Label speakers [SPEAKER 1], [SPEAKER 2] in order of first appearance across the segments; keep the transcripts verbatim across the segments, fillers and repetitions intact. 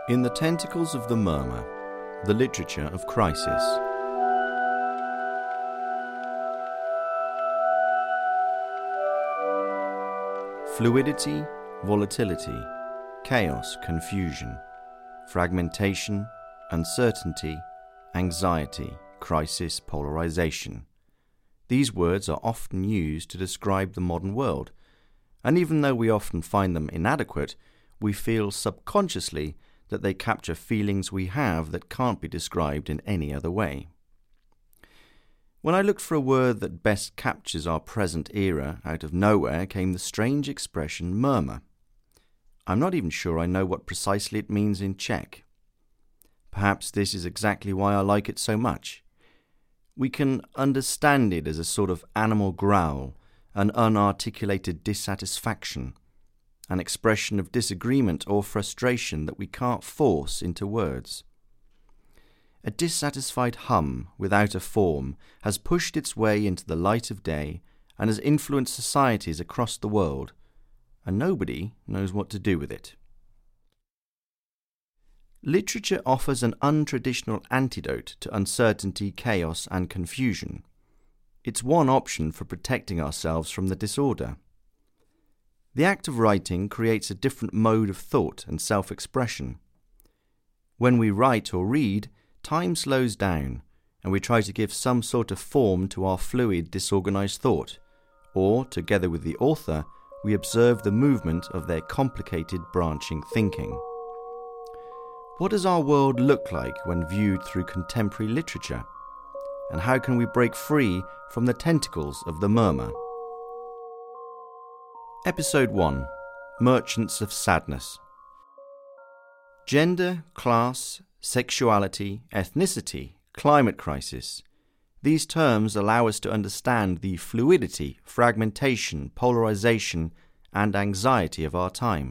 [SPEAKER 1] In the Tentacles of the Murmur, the Literature of Crisis. Fluidity, volatility, chaos, confusion, fragmentation, uncertainty, anxiety, crisis, polarization. These words are often used to describe the modern world, and even though we often find them inadequate, we feel subconsciously that they capture feelings we have that can't be described in any other way. When I looked for a word that best captures our present era, out of nowhere came the strange expression murmur. I'm not even sure I know what precisely it means in Czech. Perhaps this is exactly why I like it so much. We can understand it as a sort of animal growl, an unarticulated dissatisfaction, an expression of disagreement or frustration that we can't force into words. A dissatisfied hum without a form has pushed its way into the light of day and has influenced societies across the world, and nobody knows what to do with it. Literature offers an untraditional antidote to uncertainty, chaos, and confusion. It's one option for protecting ourselves from the disorder. The act of writing creates a different mode of thought and self-expression. When we write or read, time slows down, and we try to give some sort of form to our fluid, disorganized thought, or, together with the author, we observe the movement of their complicated, branching thinking. What does our world look like when viewed through contemporary literature? And how can we break free from the tentacles of the murmur? Episode one. Merchants of Sadness. Gender, class, sexuality, ethnicity, climate crisis. These terms allow us to understand the fluidity, fragmentation, polarization, and anxiety of our time.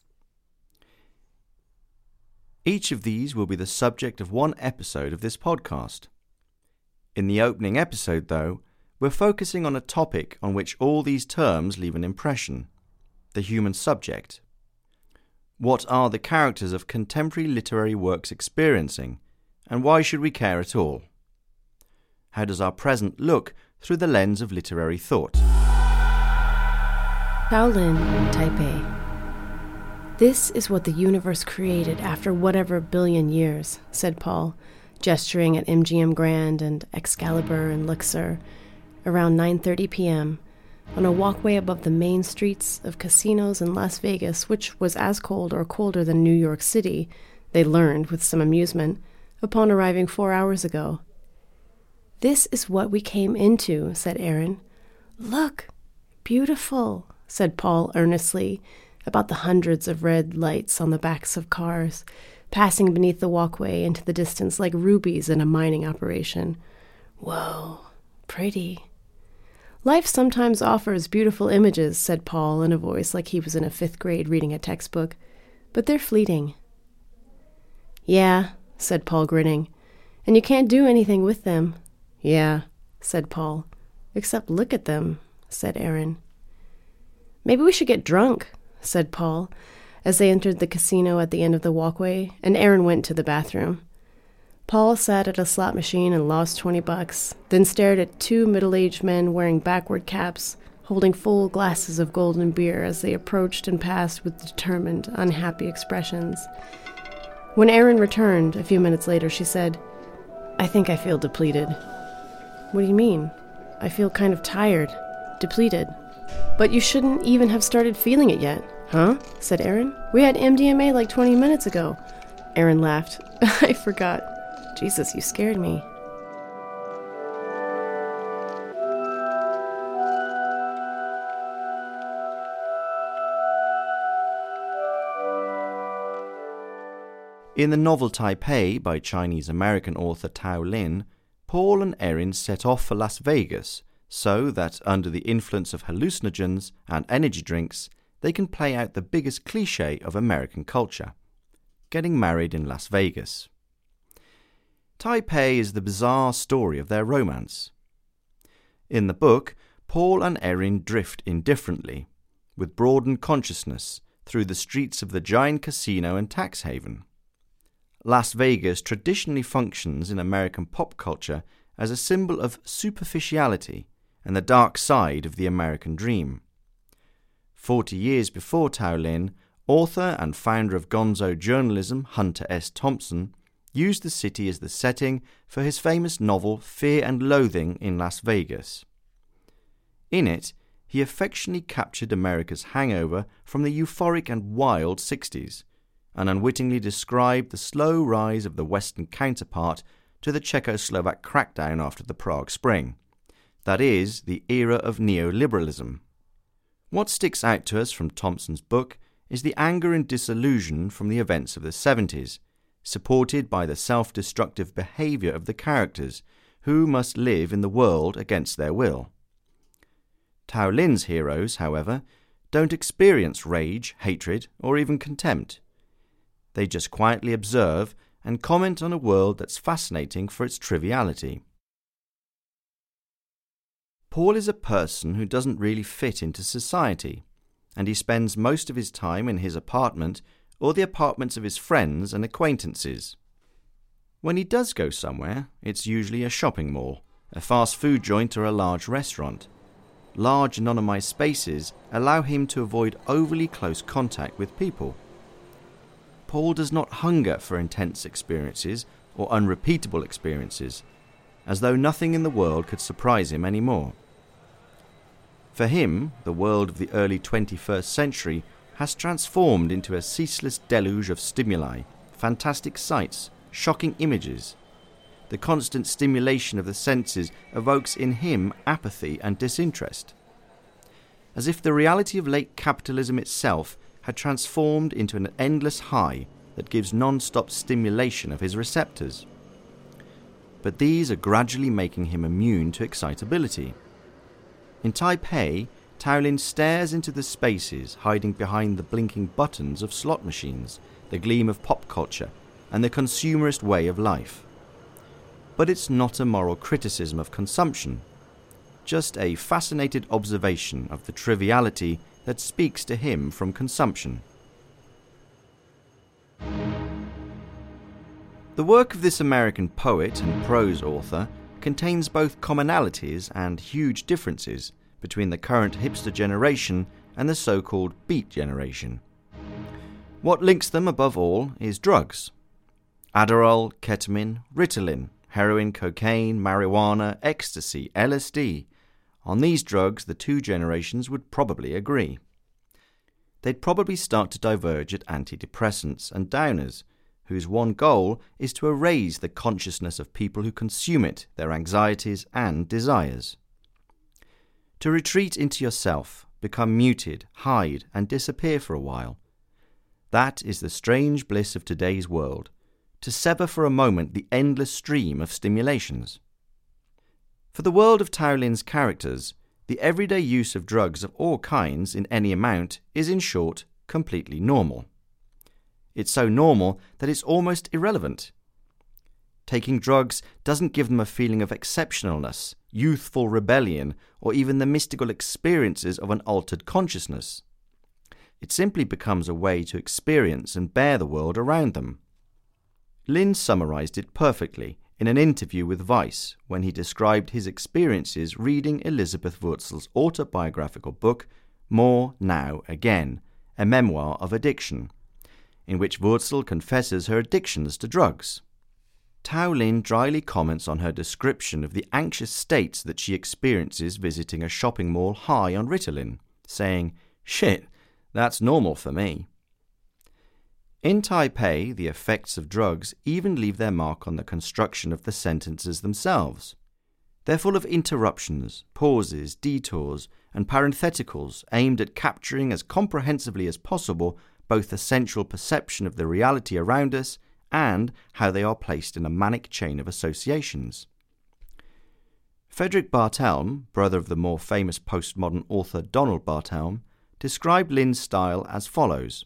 [SPEAKER 1] Each of these will be the subject of one episode of this podcast. In the opening episode, though, we're focusing on a topic on which all these terms leave an impression: the human subject. What are the characters of contemporary literary works experiencing, and why should we care at all? How does our present look through the lens of literary thought?
[SPEAKER 2] Shaolin, Taipei. This is what the universe created after whatever billion years, said Paul, gesturing at M G M Grand and Excalibur and Luxor, around nine thirty p.m., on a walkway above the main streets of casinos in Las Vegas, which was as cold or colder than New York City, they learned with some amusement, upon arriving four hours ago. This is what we came into, said Aaron. Look, beautiful, said Paul earnestly, about the hundreds of red lights on the backs of cars, passing beneath the walkway into the distance like rubies in a mining operation. Whoa, pretty. Life sometimes offers beautiful images, said Paul in a voice like he was in a fifth grade reading a textbook, but they're fleeting. Yeah, said Paul, grinning, and you can't do anything with them. Yeah, said Paul, except look at them, said Aaron. Maybe we should get drunk, said Paul, as they entered the casino at the end of the walkway, and Aaron went to the bathroom. Paul sat at a slot machine and lost twenty bucks, then stared at two middle-aged men wearing backward caps, holding full glasses of golden beer as they approached and passed with determined, unhappy expressions. When Aaron returned a few minutes later, she said, I think I feel depleted. What do you mean? I feel kind of tired, depleted. But you shouldn't even have started feeling it yet. Huh? Said Aaron. We had M D M A like twenty minutes ago. Aaron laughed. I forgot. Jesus, you scared me.
[SPEAKER 1] In the novel Taipei by Chinese-American author Tao Lin, Paul and Erin set off for Las Vegas so that, under the influence of hallucinogens and energy drinks, they can play out the biggest cliché of American culture: getting married in Las Vegas. Taipei is the bizarre story of their romance. In the book, Paul and Erin drift indifferently, with broadened consciousness, through the streets of the giant casino and tax haven. Las Vegas traditionally functions in American pop culture as a symbol of superficiality and the dark side of the American dream. Forty years before Tao Lin, author and founder of gonzo journalism Hunter S. Thompson used the city as the setting for his famous novel Fear and Loathing in Las Vegas. In it, he affectionately captured America's hangover from the euphoric and wild sixties, and unwittingly described the slow rise of the Western counterpart to the Czechoslovak crackdown after the Prague Spring. That is, the era of neoliberalism. What sticks out to us from Thompson's book is the anger and disillusion from the events of the seventies, supported by the self-destructive behaviour of the characters, who must live in the world against their will. Tao Lin's heroes, however, don't experience rage, hatred, or even contempt. They just quietly observe and comment on a world that's fascinating for its triviality. Paul is a person who doesn't really fit into society, and he spends most of his time in his apartment or the apartments of his friends and acquaintances. When he does go somewhere, it's usually a shopping mall, a fast food joint, or a large restaurant. Large anonymized spaces allow him to avoid overly close contact with people. Paul does not hunger for intense experiences or unrepeatable experiences, as though nothing in the world could surprise him anymore. For him, the world of the early twenty-first century has transformed into a ceaseless deluge of stimuli, fantastic sights, shocking images. The constant stimulation of the senses evokes in him apathy and disinterest, as if the reality of late capitalism itself had transformed into an endless high that gives non-stop stimulation of his receptors. But these are gradually making him immune to excitability. In Taipei, Tao Lin stares into the spaces hiding behind the blinking buttons of slot machines, the gleam of pop culture, and the consumerist way of life. But it's not a moral criticism of consumption, just a fascinated observation of the triviality that speaks to him from consumption. The work of this American poet and prose author contains both commonalities and huge differences between the current hipster generation and the so-called beat generation. What links them above all is drugs. Adderall, ketamine, Ritalin, heroin, cocaine, marijuana, ecstasy, L S D. On these drugs, the two generations would probably agree. They'd probably start to diverge at antidepressants and downers, whose one goal is to erase the consciousness of people who consume it, their anxieties and desires. To retreat into yourself, become muted, hide, and disappear for a while. That is the strange bliss of today's world, to sever for a moment the endless stream of stimulations. For the world of Tao Lin's characters, the everyday use of drugs of all kinds in any amount is, in short, completely normal. It's so normal that it's almost irrelevant. Taking drugs doesn't give them a feeling of exceptionalness, youthful rebellion, or even the mystical experiences of an altered consciousness. It simply becomes a way to experience and bear the world around them. Lin summarized it perfectly in an interview with Vice when he described his experiences reading Elizabeth Wurzel's autobiographical book, More Now Again, a memoir of addiction, in which Wurzel confesses her addictions to drugs. Tao Lin dryly comments on her description of the anxious states that she experiences visiting a shopping mall high on Ritalin, saying, "Shit, that's normal for me." In Taipei, the effects of drugs even leave their mark on the construction of the sentences themselves. They're full of interruptions, pauses, detours, and parentheticals aimed at capturing as comprehensively as possible both the central perception of the reality around us and how they are placed in a manic chain of associations. Frederick Barthelme, brother of the more famous postmodern author Donald Barthelme, described Lin's style as follows.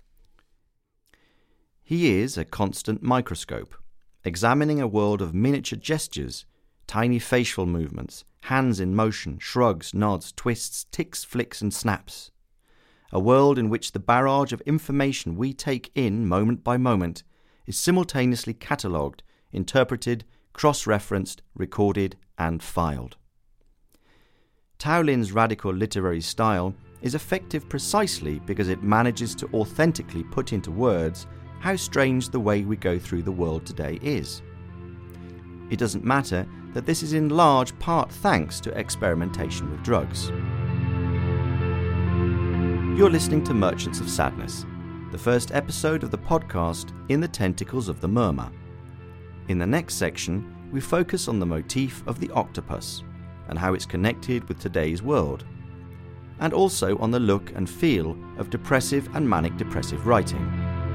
[SPEAKER 1] He is a constant microscope, examining a world of miniature gestures, tiny facial movements, hands in motion, shrugs, nods, twists, ticks, flicks, and snaps. A world in which the barrage of information we take in moment by moment is simultaneously catalogued, interpreted, cross-referenced, recorded, and filed. Tao Lin's radical literary style is effective precisely because it manages to authentically put into words how strange the way we go through the world today is. It doesn't matter that this is in large part thanks to experimentation with drugs. You're listening to Merchants of Sadness, the first episode of the podcast In the Tentacles of the Murmur. In the next section, we focus on the motif of the octopus and how it's connected with today's world, and also on the look and feel of depressive and manic-depressive writing.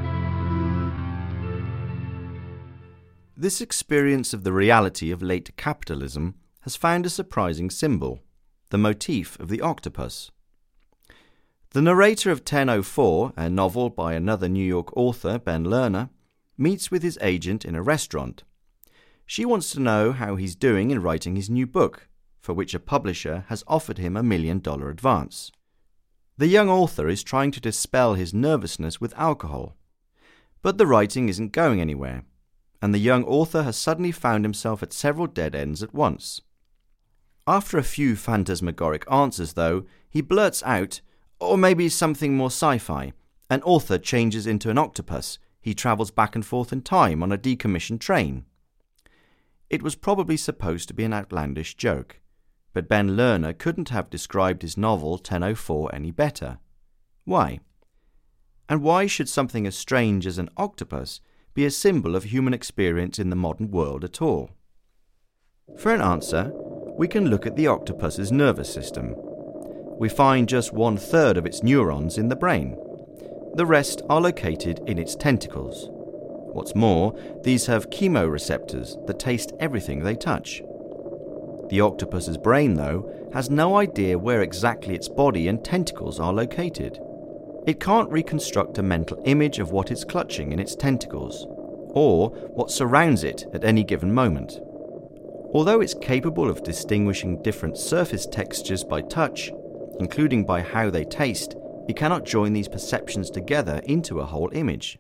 [SPEAKER 1] This experience of the reality of late capitalism has found a surprising symbol, the motif of the octopus. The narrator of ten oh four, a novel by another New York author, Ben Lerner, meets with his agent in a restaurant. She wants to know how he's doing in writing his new book, for which a publisher has offered him a million dollar advance. The young author is trying to dispel his nervousness with alcohol, but the writing isn't going anywhere, and the young author has suddenly found himself at several dead ends at once. After a few phantasmagoric answers, though, he blurts out, or maybe something more sci-fi. An author changes into an octopus. He travels back and forth in time on a decommissioned train. It was probably supposed to be an outlandish joke, but Ben Lerner couldn't have described his novel ten oh four any better. Why? And why should something as strange as an octopus be a symbol of human experience in the modern world at all? For an answer, we can look at the octopus's nervous system. We find just one third of its neurons in the brain. The rest are located in its tentacles. What's more, these have chemoreceptors that taste everything they touch. The octopus's brain, though, has no idea where exactly its body and tentacles are located. It can't reconstruct a mental image of what it's clutching in its tentacles, or what surrounds it at any given moment. Although it's capable of distinguishing different surface textures by touch, including by how they taste, it cannot join these perceptions together into a whole image.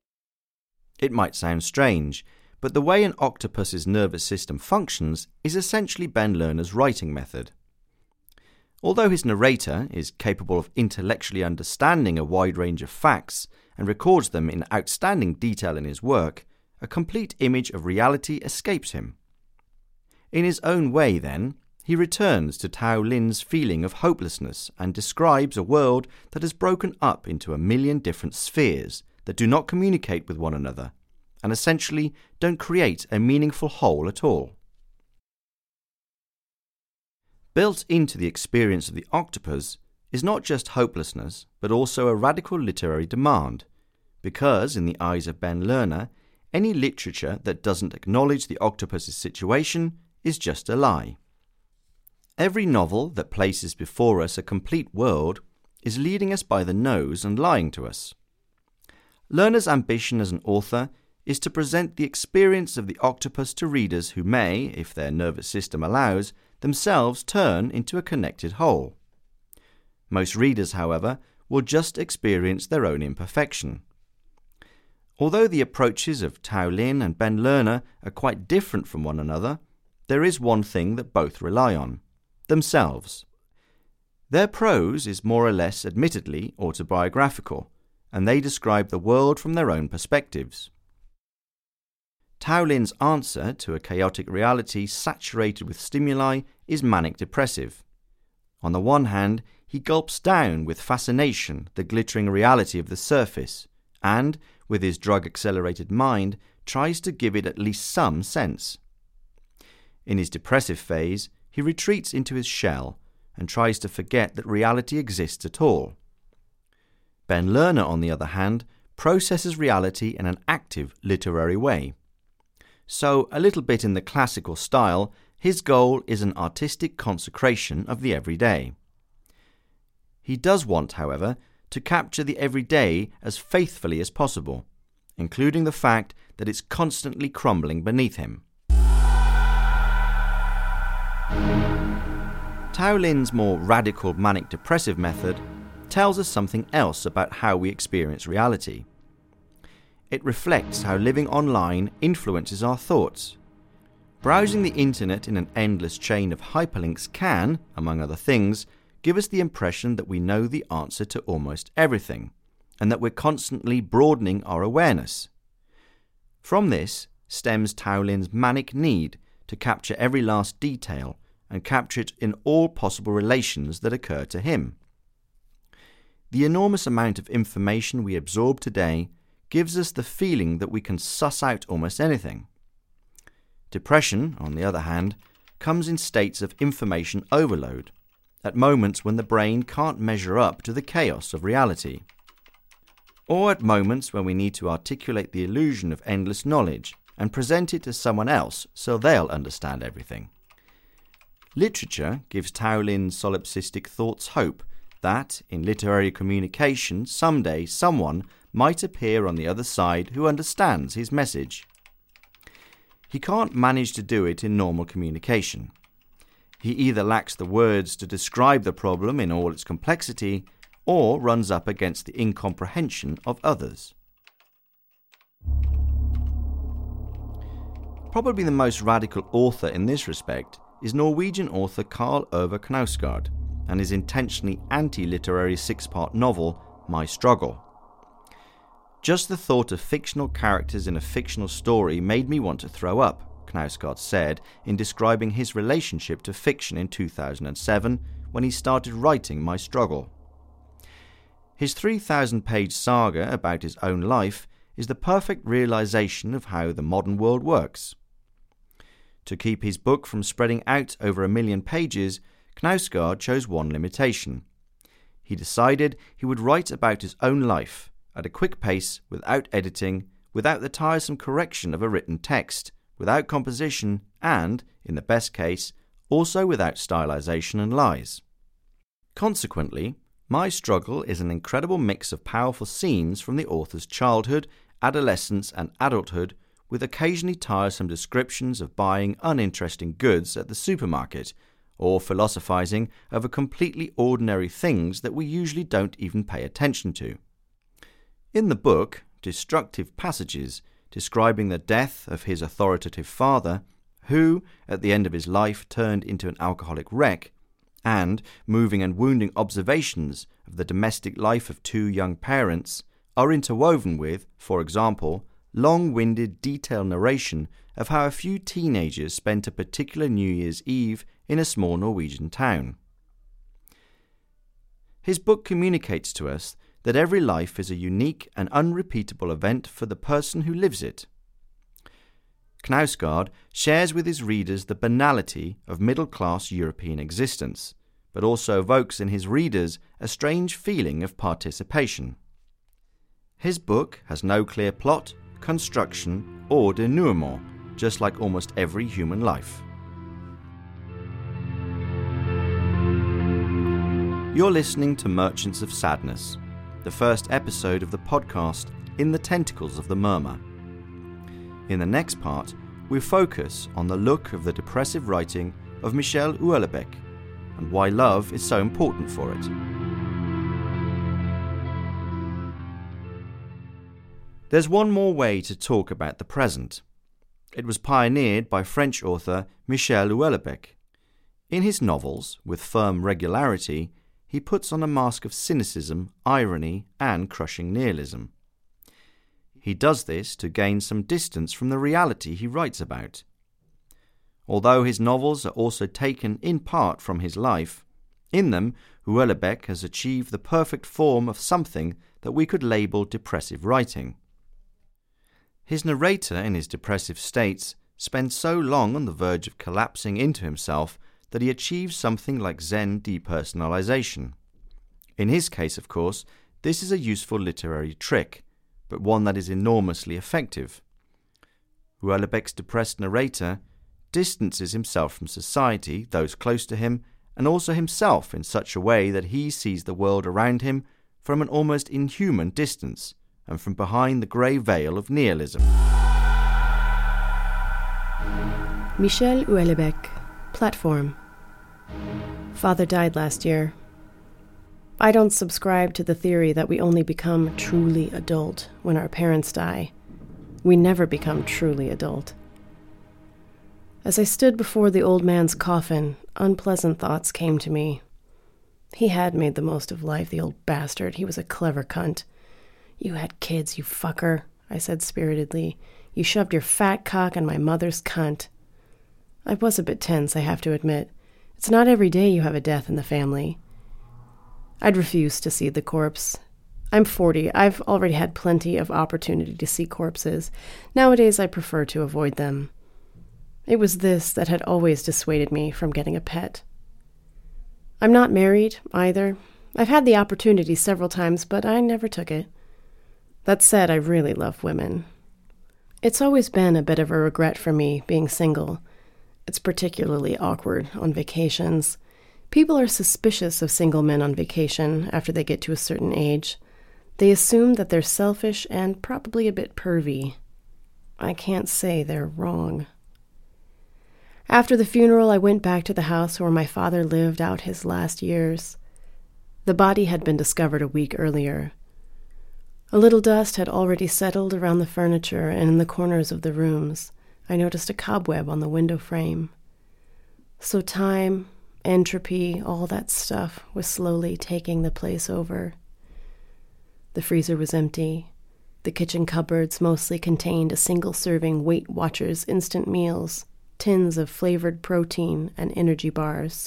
[SPEAKER 1] It might sound strange, but the way an octopus's nervous system functions is essentially Ben Lerner's writing method. Although his narrator is capable of intellectually understanding a wide range of facts and records them in outstanding detail in his work, a complete image of reality escapes him. In his own way, then, he returns to Tao Lin's feeling of hopelessness and describes a world that has broken up into a million different spheres that do not communicate with one another, and essentially don't create a meaningful whole at all. Built into the experience of the octopus is not just hopelessness, but also a radical literary demand, because, in the eyes of Ben Lerner, any literature that doesn't acknowledge the octopus's situation is just a lie. Every novel that places before us a complete world is leading us by the nose and lying to us. Lerner's ambition as an author is to present the experience of the octopus to readers who may, if their nervous system allows, themselves turn into a connected whole. Most readers, however, will just experience their own imperfection. Although the approaches of Tao Lin and Ben Lerner are quite different from one another, there is one thing that both rely on: themselves. Their prose is more or less admittedly autobiographical, and they describe the world from their own perspectives. Tao Lin's answer to a chaotic reality saturated with stimuli is manic-depressive. On the one hand, he gulps down with fascination the glittering reality of the surface, and, with his drug-accelerated mind, tries to give it at least some sense. In his depressive phase, he retreats into his shell and tries to forget that reality exists at all. Ben Lerner, on the other hand, processes reality in an active literary way. So, a little bit in the classical style, his goal is an artistic consecration of the everyday. He does want, however, to capture the everyday as faithfully as possible, including the fact that it's constantly crumbling beneath him. Tao Lin's more radical manic-depressive method tells us something else about how we experience reality. it reflects how living online influences our thoughts. Browsing the internet in an endless chain of hyperlinks can, among other things, give us the impression that we know the answer to almost everything, and that we're constantly broadening our awareness. From this stems Taulin's manic need to capture every last detail and capture it in all possible relations that occur to him. The enormous amount of information we absorb today gives us the feeling that we can suss out almost anything. Depression, on the other hand, comes in states of information overload, at moments when the brain can't measure up to the chaos of reality, or at moments when we need to articulate the illusion of endless knowledge and present it to someone else so they'll understand everything. Literature gives Taulin's solipsistic thoughts hope that, in literary communication, someday someone might appear on the other side who understands his message. He can't manage to do it in normal communication. He either lacks the words to describe the problem in all its complexity, or runs up against the incomprehension of others. Probably the most radical author in this respect is Norwegian author Karl Ove Knausgård and his intentionally anti-literary six-part novel, My Struggle. Just the thought of fictional characters in a fictional story made me want to throw up, Knausgård said in describing his relationship to fiction in two thousand seven when he started writing My Struggle. His three thousand page saga about his own life is the perfect realization of how the modern world works. To keep his book from spreading out over a million pages, Knausgård chose one limitation. He decided he would write about his own life, at a quick pace, without editing, without the tiresome correction of a written text, without composition, and, in the best case, also without stylization and lies. Consequently, My Struggle is an incredible mix of powerful scenes from the author's childhood, adolescence and adulthood, with occasionally tiresome descriptions of buying uninteresting goods at the supermarket, or philosophizing over completely ordinary things that we usually don't even pay attention to. In the book, destructive passages describing the death of his authoritative father, who, at the end of his life, turned into an alcoholic wreck, and moving and wounding observations of the domestic life of two young parents, are interwoven with, for example, long-winded detailed narration of how a few teenagers spent a particular New Year's Eve in a small Norwegian town. His book communicates to us that every life is a unique and unrepeatable event for the person who lives it. Knausgård shares with his readers the banality of middle-class European existence, but also evokes in his readers a strange feeling of participation. His book has no clear plot, construction, or denouement, just like almost every human life. You're listening to Merchants of Sadness, the first episode of the podcast In the Tentacles of the Murmur. In the next part, we focus on the look of the depressive writing of Michel Houellebecq and why love is so important for it. There's one more way to talk about the present. It was pioneered by French author Michel Houellebecq. In his novels, with firm regularity, he puts on a mask of cynicism, irony, and crushing nihilism. He does this to gain some distance from the reality he writes about. Although his novels are also taken in part from his life, in them Houellebecq has achieved the perfect form of something that we could label depressive writing. His narrator in his depressive states spends so long on the verge of collapsing into himself that he achieves something like Zen depersonalization. In his case, of course, this is a useful literary trick, but one that is enormously effective. Houellebecq's depressed narrator distances himself from society, those close to him, and also himself in such a way that he sees the world around him from an almost inhuman distance and from behind the grey veil of nihilism.
[SPEAKER 2] Michel Houellebecq, Platform. Father died last year. I don't subscribe to the theory that we only become truly adult when our parents die. We never become truly adult. As I stood before the old man's coffin, unpleasant thoughts came to me. He had made the most of life, the old bastard. He was a clever cunt. "You had kids, you fucker," I said spiritedly. "You shoved your fat cock in my mother's cunt." I was a bit tense, I have to admit. It's not every day you have a death in the family. I'd refused to see the corpse. I'm forty. I've already had plenty of opportunity to see corpses. Nowadays, I prefer to avoid them. It was this that had always dissuaded me from getting a pet. I'm not married, either. I've had the opportunity several times, but I never took it. That said, I really love women. It's always been a bit of a regret for me, being single. It's particularly awkward on vacations. People are suspicious of single men on vacation after they get to a certain age. They assume that they're selfish and probably a bit pervy. I can't say they're wrong. After the funeral, I went back to the house where my father lived out his last years. The body had been discovered a week earlier. A little dust had already settled around the furniture and in the corners of the rooms. I noticed a cobweb on the window frame. So time, entropy, all that stuff was slowly taking the place over. The freezer was empty. The kitchen cupboards mostly contained a single-serving Weight Watchers instant meals, tins of flavored protein, and energy bars.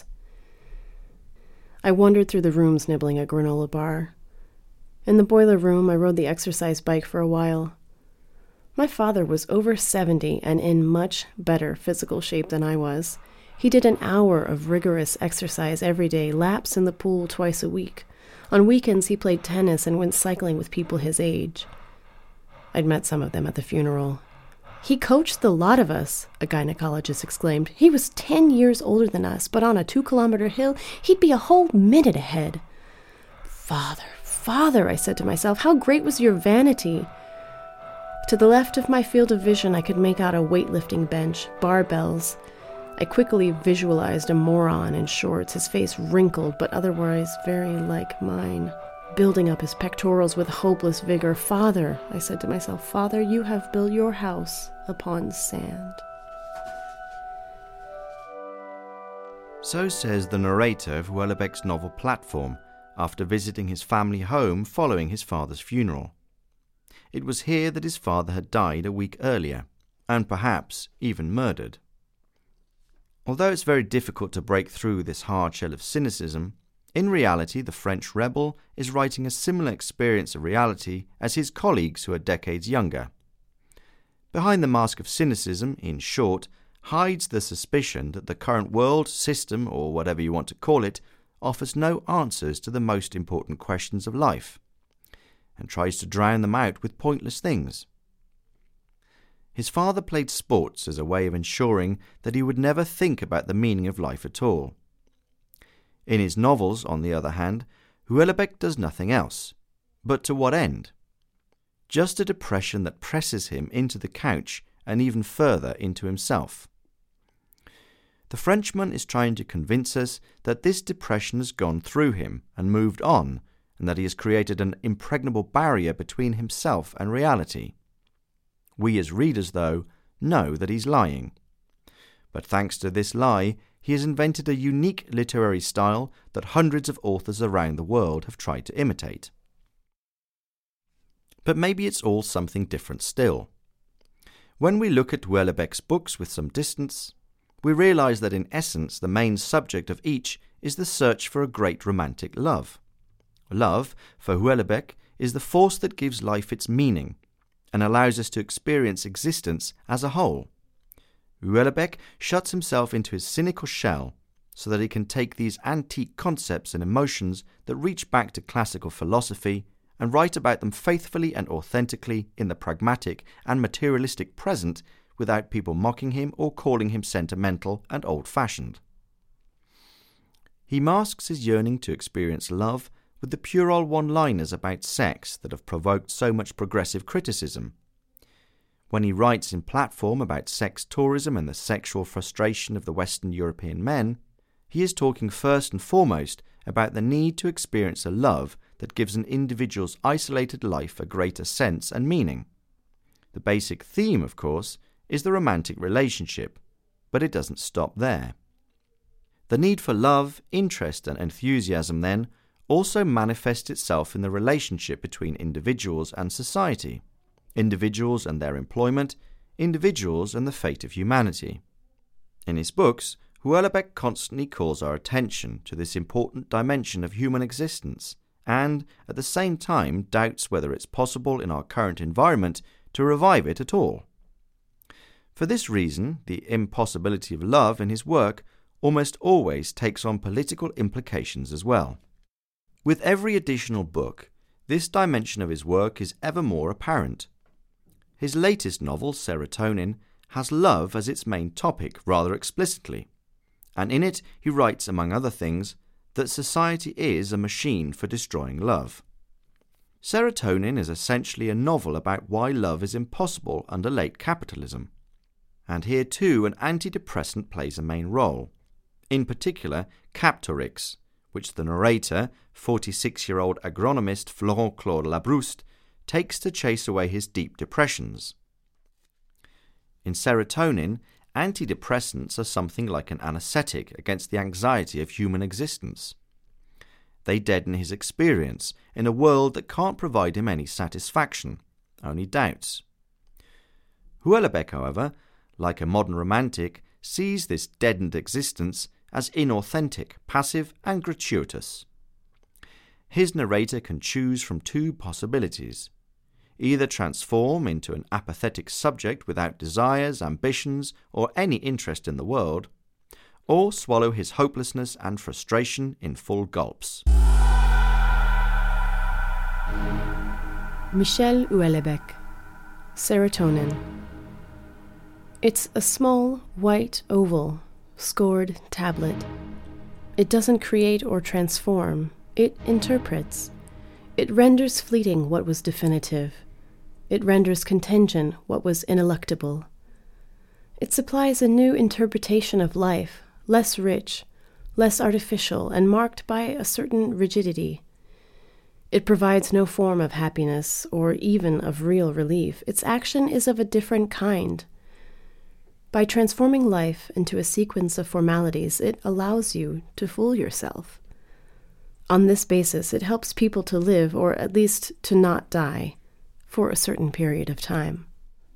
[SPEAKER 2] I wandered through the rooms nibbling a granola bar. In the boiler room, I rode the exercise bike for a while. My father was over seventy and in much better physical shape than I was. He did an hour of rigorous exercise every day, laps in the pool twice a week. On weekends, he played tennis and went cycling with people his age. I'd met some of them at the funeral. "He coached the lot of us," a gynecologist exclaimed. "He was ten years older than us, but on a two-kilometer hill, he'd be a whole minute ahead." "Father, father," I said to myself, "how great was your vanity?" To the left of my field of vision, I could make out a weightlifting bench, barbells. I quickly visualized a moron in shorts, his face wrinkled, but otherwise very like mine, building up his pectorals with hopeless vigor. "Father," I said to myself, "Father, you have built your house upon sand."
[SPEAKER 1] So says the narrator of Houellebecq's novel Platform, after visiting his family home following his father's funeral. It was here that his father had died a week earlier, and perhaps even murdered. Although it's very difficult to break through this hard shell of cynicism, in reality the French rebel is writing a similar experience of reality as his colleagues who are decades younger. Behind the mask of cynicism, in short, hides the suspicion that the current world, system, or whatever you want to call it, offers no answers to the most important questions of life, and tries to drown them out with pointless things. His father played sports as a way of ensuring that he would never think about the meaning of life at all. In his novels, on the other hand, Houellebecq does nothing else. But to what end? Just a depression that presses him into the couch and even further into himself. The Frenchman is trying to convince us that this depression has gone through him and moved on, and that he has created an impregnable barrier between himself and reality. We as readers, though, know that he's lying. But thanks to this lie, he has invented a unique literary style that hundreds of authors around the world have tried to imitate. But maybe it's all something different still. When we look at Houellebecq's books with some distance, we realize that in essence the main subject of each is the search for a great romantic love. Love, for Houellebecq, is the force that gives life its meaning and allows us to experience existence as a whole. Houellebecq shuts himself into his cynical shell so that he can take these antique concepts and emotions that reach back to classical philosophy and write about them faithfully and authentically in the pragmatic and materialistic present without people mocking him or calling him sentimental and old-fashioned. He masks his yearning to experience love with the puerile one-liners about sex that have provoked so much progressive criticism. When he writes in Platform about sex tourism and the sexual frustration of the Western European men, he is talking first and foremost about the need to experience a love that gives an individual's isolated life a greater sense and meaning. The basic theme, of course, is the romantic relationship, but it doesn't stop there. The need for love, interest, and enthusiasm, then, also manifests itself in the relationship between individuals and society, individuals and their employment, individuals and the fate of humanity. In his books, Houellebecq constantly calls our attention to this important dimension of human existence and, at the same time, doubts whether it's possible in our current environment to revive it at all. For this reason, the impossibility of love in his work almost always takes on political implications as well. With every additional book, this dimension of his work is ever more apparent. His latest novel, Serotonin, has love as its main topic rather explicitly, and in it he writes, among other things, that society is a machine for destroying love. Serotonin is essentially a novel about why love is impossible under late capitalism, and here too an antidepressant plays a main role, in particular Captorix, which the narrator, forty-six-year-old agronomist Florent-Claude Labrouste, takes to chase away his deep depressions. In Serotonin, antidepressants are something like an anesthetic against the anxiety of human existence. They deaden his experience in a world that can't provide him any satisfaction, only doubts. Houellebecq, however, like a modern romantic, sees this deadened existence as inauthentic, passive, and gratuitous. His narrator can choose from two possibilities: either transform into an apathetic subject without desires, ambitions, or any interest in the world, or swallow his hopelessness and frustration in full gulps.
[SPEAKER 2] Michel Houellebecq, Serotonin. It's a small, white oval, scored tablet. It doesn't create or transform, it interprets. It renders fleeting what was definitive. It renders contingent what was ineluctable. It supplies a new interpretation of life, less rich, less artificial, and marked by a certain rigidity. It provides no form of happiness or even of real relief. Its action is of a different kind. By transforming life into a sequence of formalities, it allows you to fool yourself. On this basis, it helps people to live, or at least to not die, for a certain period of time.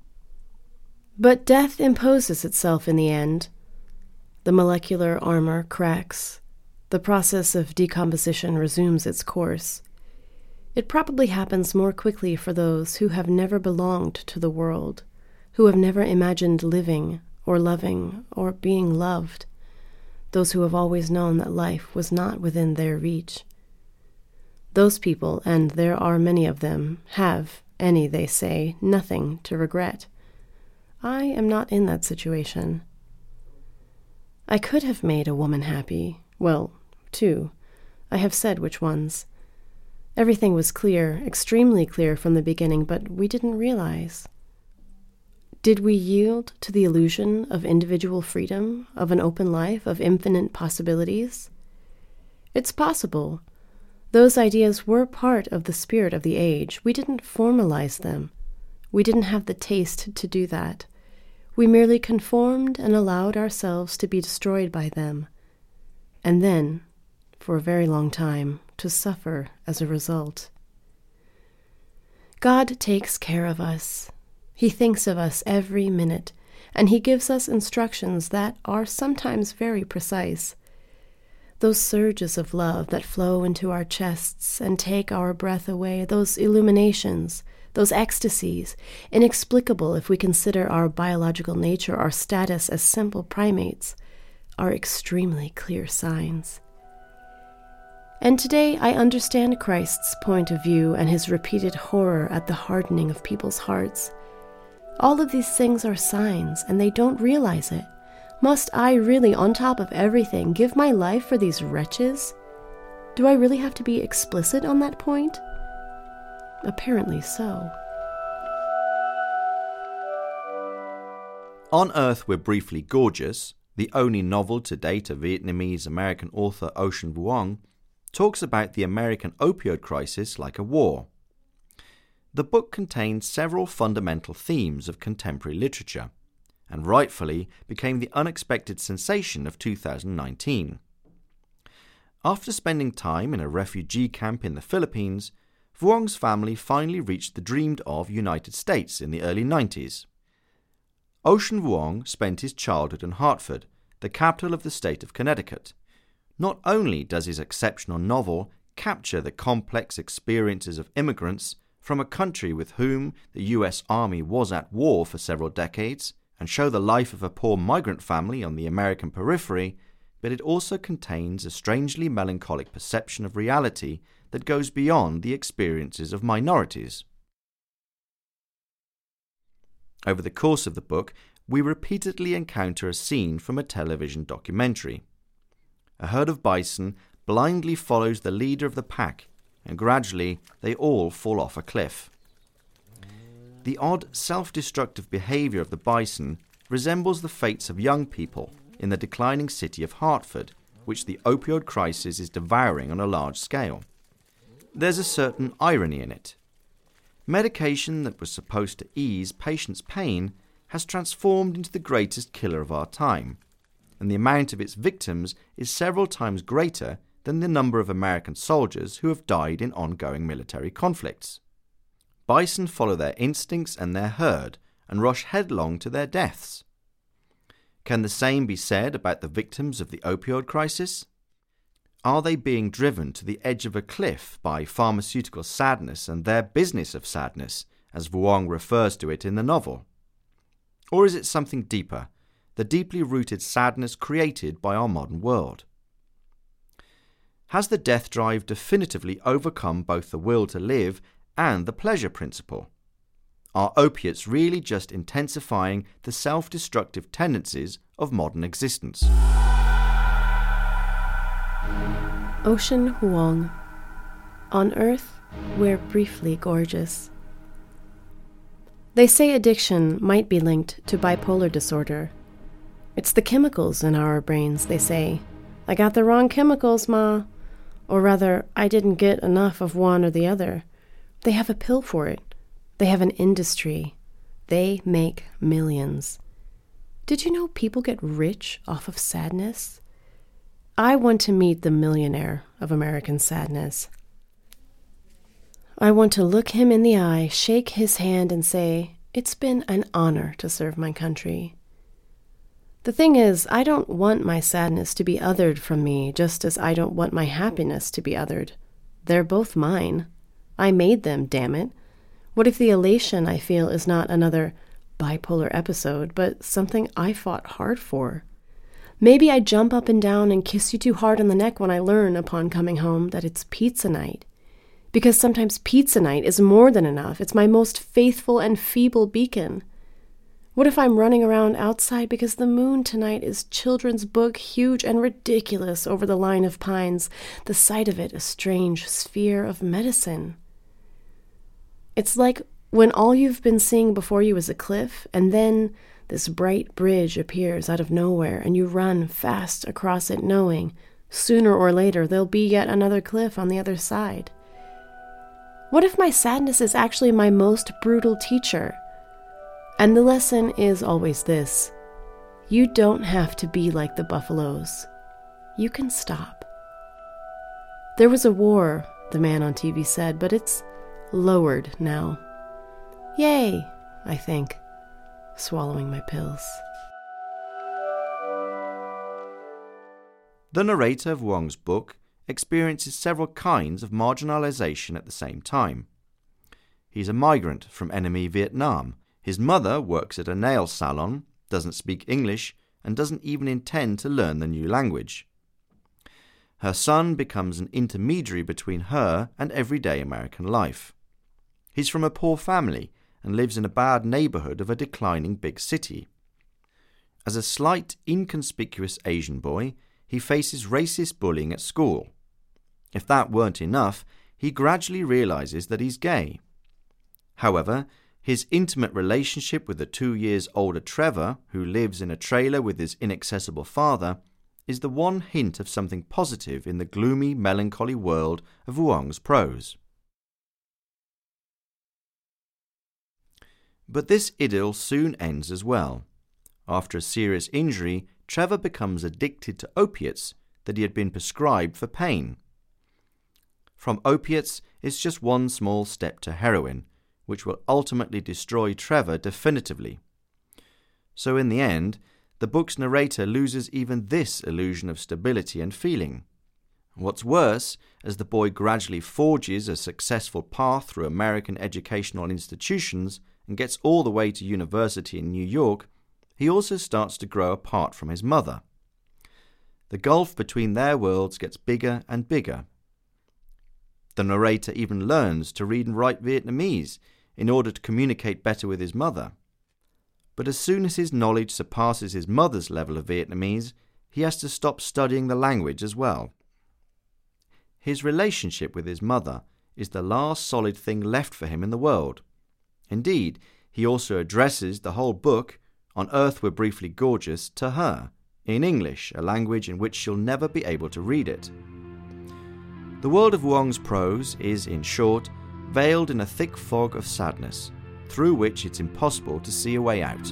[SPEAKER 2] But death imposes itself in the end. The molecular armor cracks. The process of decomposition resumes its course. It probably happens more quickly for those who have never belonged to the world, who have never imagined living or loving or being loved, those who have always known that life was not within their reach. Those people, and there are many of them, have, any, they say, nothing to regret. I am not in that situation. I could have made a woman happy. Well, two. I have said which ones. Everything was clear, extremely clear from the beginning, but we didn't realize. Did we yield to the illusion of individual freedom, of an open life, of infinite possibilities? It's possible. Those ideas were part of the spirit of the age. We didn't formalize them. We didn't have the taste to do that. We merely conformed and allowed ourselves to be destroyed by them, and then, for a very long time, to suffer as a result. God takes care of us. He thinks of us every minute, and he gives us instructions that are sometimes very precise. Those surges of love that flow into our chests and take our breath away, those illuminations, those ecstasies, inexplicable if we consider our biological nature, our status as simple primates, are extremely clear signs. And today I understand Christ's point of view and his repeated horror at the hardening of people's hearts. All of these things are signs, and they don't realize it. Must I really, on top of everything, give my life for these wretches? Do I really have to be explicit on that point? Apparently so.
[SPEAKER 1] On Earth We're Briefly Gorgeous, the only novel to date of Vietnamese-American author Ocean Vuong, talks about the American opioid crisis like a war. The book contained several fundamental themes of contemporary literature, and rightfully became the unexpected sensation of two thousand nineteen. After spending time in a refugee camp in the Philippines, Vuong's family finally reached the dreamed-of United States in the early nineties. Ocean Vuong spent his childhood in Hartford, the capital of the state of Connecticut. Not only does his exceptional novel capture the complex experiences of immigrants from a country with whom the U S Army was at war for several decades, and show the life of a poor migrant family on the American periphery, but it also contains a strangely melancholic perception of reality that goes beyond the experiences of minorities. Over the course of the book, we repeatedly encounter a scene from a television documentary. A herd of bison blindly follows the leader of the pack, and gradually they all fall off a cliff. The odd, self-destructive behaviour of the bison resembles the fates of young people in the declining city of Hartford, which the opioid crisis is devouring on a large scale. There's a certain irony in it. Medication that was supposed to ease patients' pain has transformed into the greatest killer of our time, and the amount of its victims is several times greater than the number of American soldiers who have died in ongoing military conflicts. Bison follow their instincts and their herd and rush headlong to their deaths. Can the same be said about the victims of the opioid crisis? Are they being driven to the edge of a cliff by pharmaceutical sadness and their business of sadness, as Vuong refers to it in the novel? Or is it something deeper, the deeply rooted sadness created by our modern world? Has the death drive definitively overcome both the will to live and the pleasure principle? Are opiates really just intensifying the self-destructive tendencies of modern existence?
[SPEAKER 2] Ocean Vuong. On Earth, we're briefly gorgeous. They say addiction might be linked to bipolar disorder. It's the chemicals in our brains, they say. I got the wrong chemicals, Ma. Or rather, I didn't get enough of one or the other. They have a pill for it. They have an industry. They make millions. Did you know people get rich off of sadness? I want to meet the millionaire of American sadness. I want to look him in the eye, shake his hand, and say, "It's been an honor to serve my country." The thing is, I don't want my sadness to be othered from me, just as I don't want my happiness to be othered. They're both mine. I made them, damn it. What if the elation I feel is not another bipolar episode, but something I fought hard for? Maybe I jump up and down and kiss you too hard on the neck when I learn, upon coming home, that it's pizza night. Because sometimes pizza night is more than enough. It's my most faithful and feeble beacon. What if I'm running around outside because the moon tonight is children's book huge and ridiculous over the line of pines, the sight of it a strange sphere of medicine? It's like when all you've been seeing before you is a cliff, and then this bright bridge appears out of nowhere, and you run fast across it knowing, sooner or later, there'll be yet another cliff on the other side. What if my sadness is actually my most brutal teacher? And the lesson is always this: you don't have to be like the buffaloes. You can stop. There was a war, the man on T V said, but it's lowered now. Yay, I think, swallowing my pills.
[SPEAKER 1] The narrator of Vuong's book experiences several kinds of marginalization at the same time. He's a migrant from enemy Vietnam. His mother works at a nail salon, doesn't speak English, and doesn't even intend to learn the new language. Her son becomes an intermediary between her and everyday American life. He's from a poor family and lives in a bad neighborhood of a declining big city. As a slight, inconspicuous Asian boy, he faces racist bullying at school. If that weren't enough, he gradually realizes that he's gay. However, his intimate relationship with the two years older Trevor, who lives in a trailer with his inaccessible father, is the one hint of something positive in the gloomy, melancholy world of Vuong's prose. But this idyll soon ends as well. After a serious injury, Trevor becomes addicted to opiates that he had been prescribed for pain. From opiates, it's just one small step to heroin, which will ultimately destroy Trevor definitively. So in the end, the book's narrator loses even this illusion of stability and feeling. What's worse, as the boy gradually forges a successful path through American educational institutions and gets all the way to university in New York, he also starts to grow apart from his mother. The gulf between their worlds gets bigger and bigger. The narrator even learns to read and write Vietnamese in order to communicate better with his mother. But as soon as his knowledge surpasses his mother's level of Vietnamese, he has to stop studying the language as well. His relationship with his mother is the last solid thing left for him in the world. Indeed, he also addresses the whole book, On Earth We're Briefly Gorgeous, to her, in English, a language in which she'll never be able to read it. The world of Wong's prose is, in short, veiled in a thick fog of sadness, through which it's impossible to see a way out.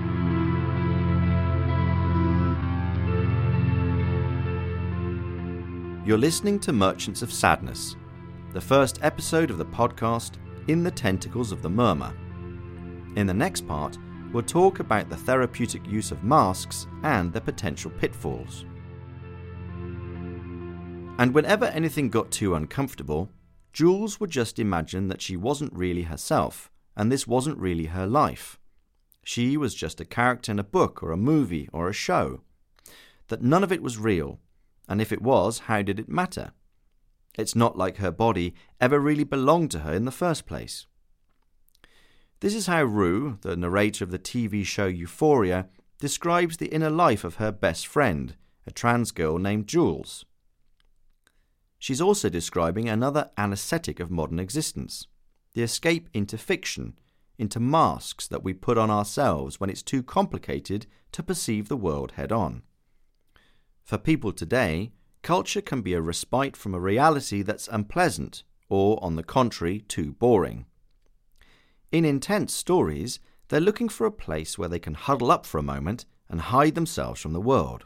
[SPEAKER 1] You're listening to Merchants of Sadness, the first episode of the podcast In the Tentacles of the Murmur. In the next part, we'll talk about the therapeutic use of masks and their potential pitfalls. And whenever anything got too uncomfortable, Jules would just imagine that she wasn't really herself, and this wasn't really her life. She was just a character in a book or a movie or a show. That none of it was real, and if it was, how did it matter? It's not like her body ever really belonged to her in the first place. This is how Rue, the narrator of the T V show Euphoria, describes the inner life of her best friend, a trans girl named Jules. She's also describing another anesthetic of modern existence, the escape into fiction, into masks that we put on ourselves when it's too complicated to perceive the world head-on. For people today, culture can be a respite from a reality that's unpleasant, or, on the contrary, too boring. In intense stories, they're looking for a place where they can huddle up for a moment and hide themselves from the world.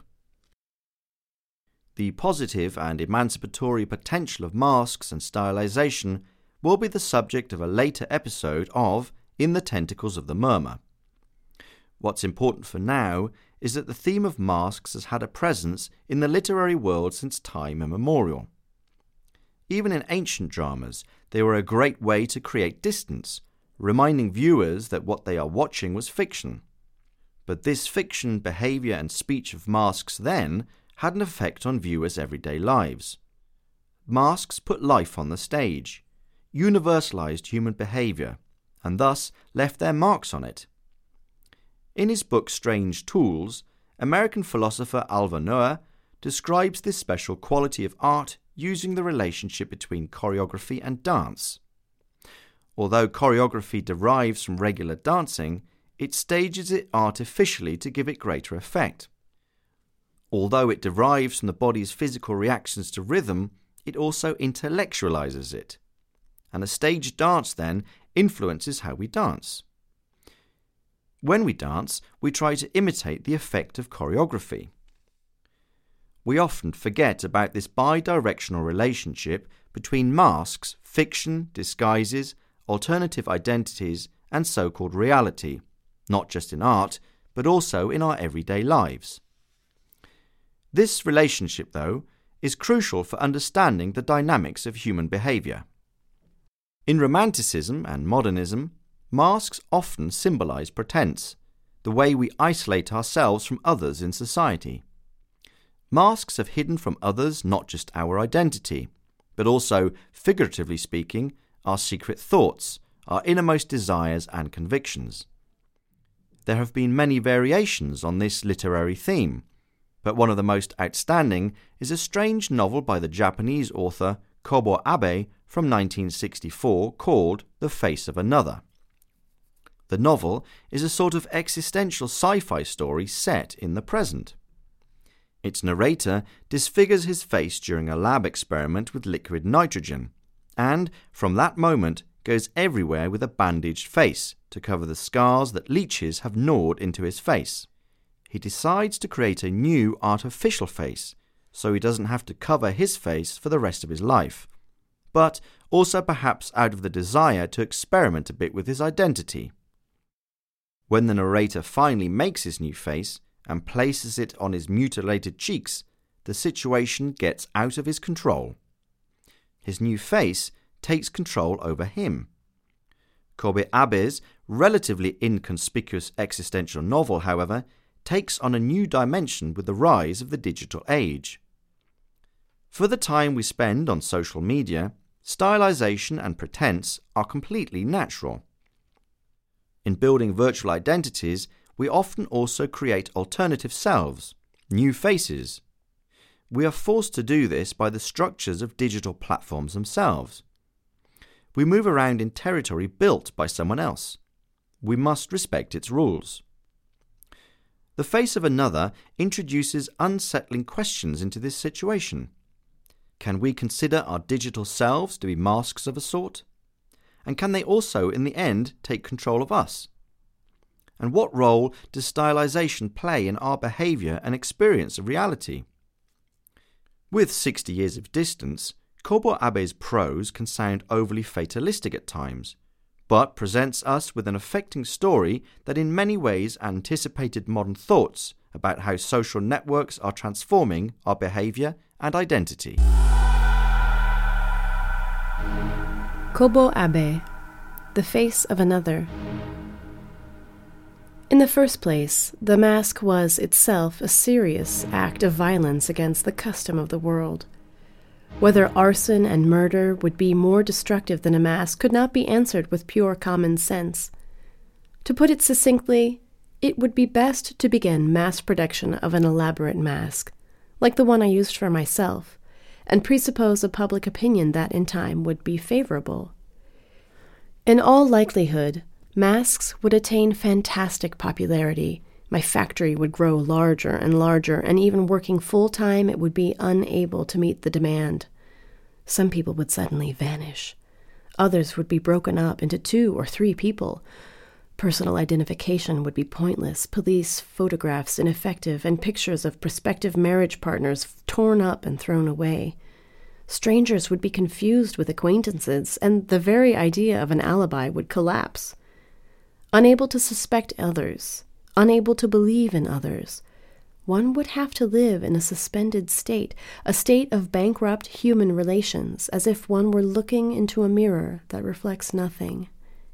[SPEAKER 1] The positive and emancipatory potential of masks and stylization will be the subject of a later episode of In the Tentacles of the Murmur. What's important for now is that the theme of masks has had a presence in the literary world since time immemorial. Even in ancient dramas, they were a great way to create distance, reminding viewers that what they are watching was fiction. But this fiction, behaviour and speech of masks then had an effect on viewers' everyday lives. Masks put life on the stage, universalised human behaviour, and thus left their marks on it. In his book Strange Tools, American philosopher Alva Noah describes this special quality of art using the relationship between choreography and dance. Although choreography derives from regular dancing, it stages it artificially to give it greater effect. Although it derives from the body's physical reactions to rhythm, it also intellectualizes it. And a staged dance, then, influences how we dance. When we dance, we try to imitate the effect of choreography. We often forget about this bi-directional relationship between masks, fiction, disguises, alternative identities, and so-called reality, not just in art, but also in our everyday lives. This relationship, though, is crucial for understanding the dynamics of human behaviour. In Romanticism and modernism, masks often symbolise pretense, the way we isolate ourselves from others in society. Masks have hidden from others not just our identity, but also, figuratively speaking, our secret thoughts, our innermost desires and convictions. There have been many variations on this literary theme, but one of the most outstanding is a strange novel by the Japanese author Kobo Abe from nineteen sixty-four called The Face of Another. The novel is a sort of existential sci-fi story set in the present. Its narrator disfigures his face during a lab experiment with liquid nitrogen, and from that moment goes everywhere with a bandaged face to cover the scars that leeches have gnawed into his face. He decides to create a new artificial face so he doesn't have to cover his face for the rest of his life, but also perhaps out of the desire to experiment a bit with his identity. When the narrator finally makes his new face and places it on his mutilated cheeks, the situation gets out of his control. His new face takes control over him. Kobe Abe's relatively inconspicuous existential novel, however, takes on a new dimension with the rise of the digital age. For the time we spend on social media, stylization and pretense are completely natural. In building virtual identities, we often also create alternative selves, new faces. We are forced to do this by the structures of digital platforms themselves. We move around in territory built by someone else. We must respect its rules. The face of another introduces unsettling questions into this situation. Can we consider our digital selves to be masks of a sort? And can they also, in the end, take control of us? And what role does stylization play in our behaviour and experience of reality? With sixty years of distance, Kobo Abe's prose can sound overly fatalistic at times, but presents us with an affecting story that in many ways anticipated modern thoughts about how social networks are transforming our behaviour and identity.
[SPEAKER 2] Kobo Abe, The Face of Another. In the first place, the mask was itself a serious act of violence against the custom of the world. Whether arson and murder would be more destructive than a mask could not be answered with pure common sense. To put it succinctly, it would be best to begin mass production of an elaborate mask, like the one I used for myself, and presuppose a public opinion that in time would be favorable. In all likelihood, masks would attain fantastic popularity. My factory would grow larger and larger, and even working full-time, it would be unable to meet the demand. Some people would suddenly vanish. Others would be broken up into two or three people. Personal identification would be pointless, police photographs ineffective, and pictures of prospective marriage partners torn up and thrown away. Strangers would be confused with acquaintances, and the very idea of an alibi would collapse. Unable to suspect others, unable to believe in others, one would have to live in a suspended state, a state of bankrupt human relations, as if one were looking into a mirror that reflects nothing.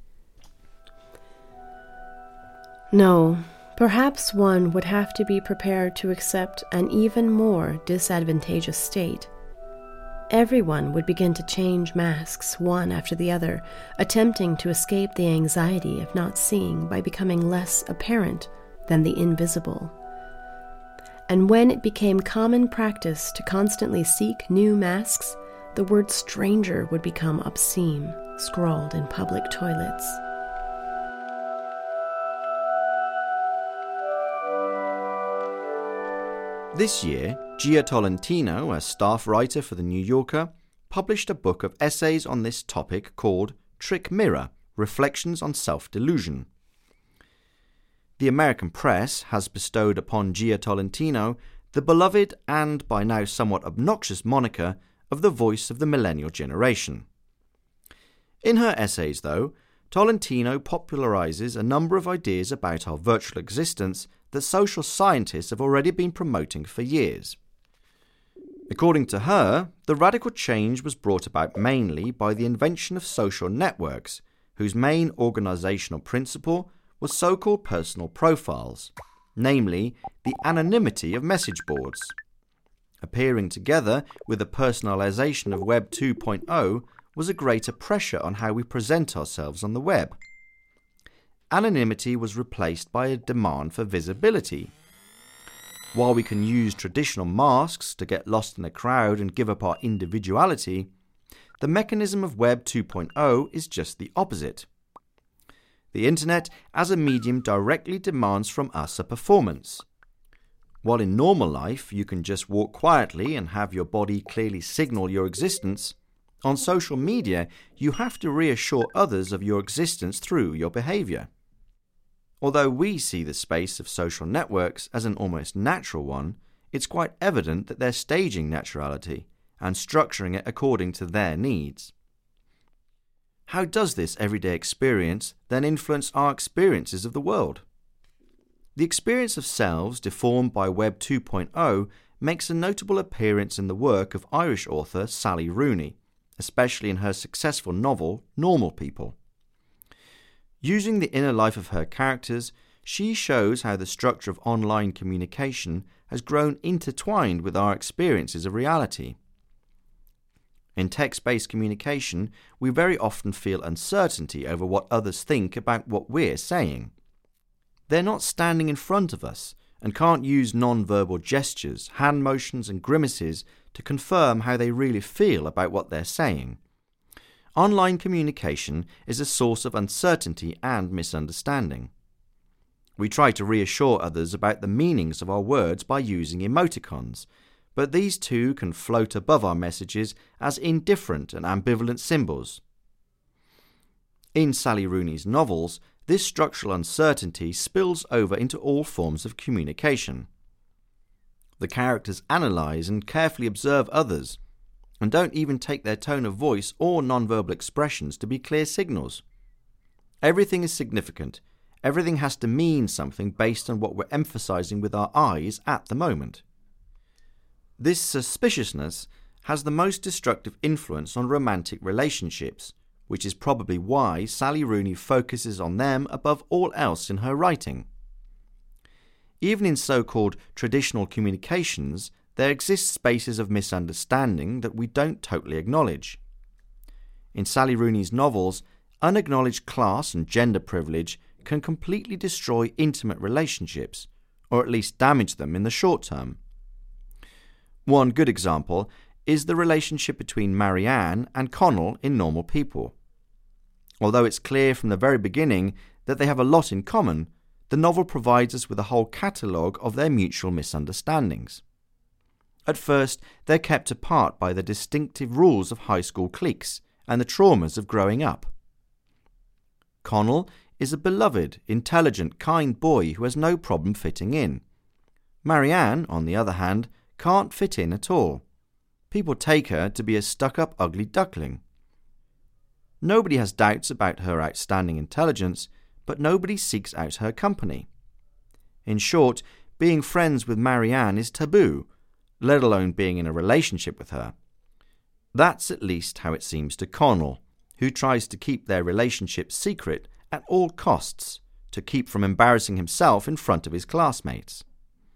[SPEAKER 2] No, perhaps one would have to be prepared to accept an even more disadvantageous state. Everyone would begin to change masks one after the other, attempting to escape the anxiety of not seeing by becoming less apparent than the invisible. And when it became common practice to constantly seek new masks, the word stranger would become obscene, scrawled in public toilets.
[SPEAKER 1] This year, Gia Tolentino, a staff writer for The New Yorker, published a book of essays on this topic called Trick Mirror: Reflections on Self-Delusion. The American press has bestowed upon Gia Tolentino the beloved and by now somewhat obnoxious moniker of the voice of the millennial generation. In her essays, though, Tolentino popularizes a number of ideas about our virtual existence that social scientists have already been promoting for years. According to her, the radical change was brought about mainly by the invention of social networks, whose main organizational principle was so-called personal profiles, namely the anonymity of message boards. Appearing together with the personalization of Web two point oh was a greater pressure on how we present ourselves on the web. Anonymity was replaced by a demand for visibility. While we can use traditional masks to get lost in a crowd and give up our individuality, the mechanism of Web two point oh is just the opposite. The internet as a medium directly demands from us a performance. While in normal life you can just walk quietly and have your body clearly signal your existence, On social media, you have to reassure others of your existence through your behaviour. Although we see the space of social networks as an almost natural one, it's quite evident that they're staging naturality and structuring it according to their needs. How does this everyday experience then influence our experiences of the world? The experience of selves deformed by Web two point oh makes a notable appearance in the work of Irish author Sally Rooney, especially in her successful novel Normal People. Using the inner life of her characters, she shows how the structure of online communication has grown intertwined with our experiences of reality. In text-based communication, we very often feel uncertainty over what others think about what we're saying. They're not standing in front of us and can't use non-verbal gestures, hand motions and grimaces to confirm how they really feel about what they're saying. Online communication is a source of uncertainty and misunderstanding. We try to reassure others about the meanings of our words by using emoticons, but these too can float above our messages as indifferent and ambivalent symbols. In Sally Rooney's novels, this structural uncertainty spills over into all forms of communication. The characters analyse and carefully observe others, and don't even take their tone of voice or non-verbal expressions to be clear signals. Everything is significant. Everything has to mean something based on what we're emphasising with our eyes at the moment. This suspiciousness has the most destructive influence on romantic relationships, which is probably why Sally Rooney focuses on them above all else in her writing. Even in so-called traditional communications, there exist spaces of misunderstanding that we don't totally acknowledge. In Sally Rooney's novels, unacknowledged class and gender privilege can completely destroy intimate relationships, or at least damage them in the short term. One good example is the relationship between Marianne and Connell in Normal People. Although it's clear from the very beginning that they have a lot in common, the novel provides us with a whole catalogue of their mutual misunderstandings. At first, they're kept apart by the distinctive rules of high school cliques and the traumas of growing up. Connell is a beloved, intelligent, kind boy who has no problem fitting in. Marianne, on the other hand, can't fit in at all. People take her to be a stuck-up ugly duckling. Nobody has doubts about her outstanding intelligence, but nobody seeks out her company. In short, being friends with Marianne is taboo, let alone being in a relationship with her. That's at least how it seems to Connell, who tries to keep their relationship secret at all costs to keep from embarrassing himself in front of his classmates.